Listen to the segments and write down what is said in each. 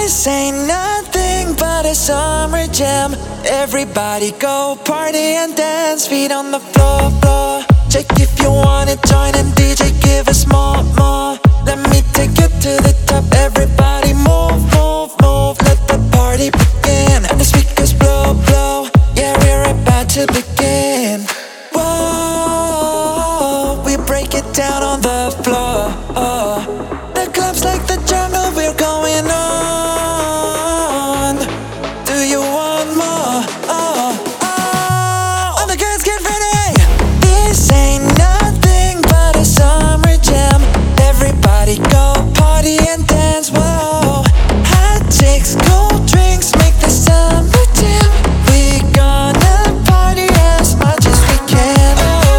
This ain't nothing but a summer jam. Everybody go party and dance, feet on the floor, floor. Check if you wanna join and DJ give us more, more. Let me take you to the top. Everybody move, move, move. Let the party begin and the speakers blow, blow. Yeah, we're about to begin. Whoa, we break it down on the floor. The club's like the jungle, we're going on. Do you want more? All the girls get ready. This ain't nothing but a summer jam. Everybody go party and dance. Whoa, hot chicks, cold drinks, make the summer jam. We gonna party as much as we can.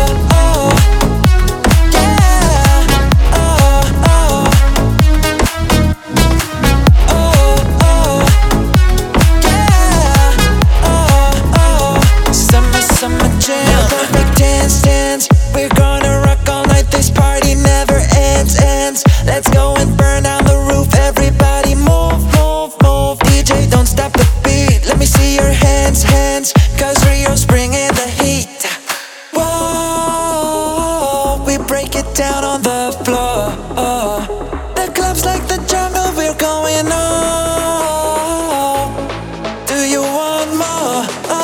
Summer jam, perfect dance, dance. We're gonna rock all night, this party never ends, ends. Let's go and burn down the roof. Everybody move, move, move. DJ, don't stop the beat. Let me see your hands, hands. Cause Rio's bringing the heat. Whoa, we break it down on the floor. The club's like the jungle, we're going on. Do you want more?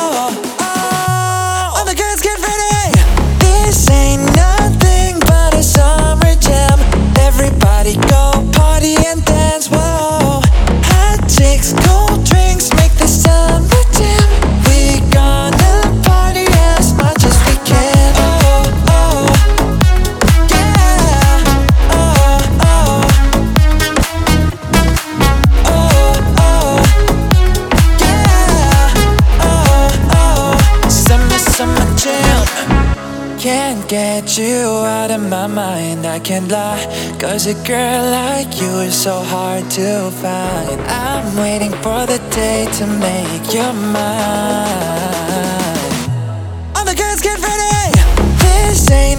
All the girls get ready. This ain't nothing but a summer jam. Everybody go party and dance. Whoa, hot chicks, cold drinks, make the summer jam. We gonna party as much as we can. Summer jam. Can't get you out of my mind, I can't lie. Cause a girl like you is so hard to find. I'm waiting for the day to make you mine. All the girls get ready. This ain't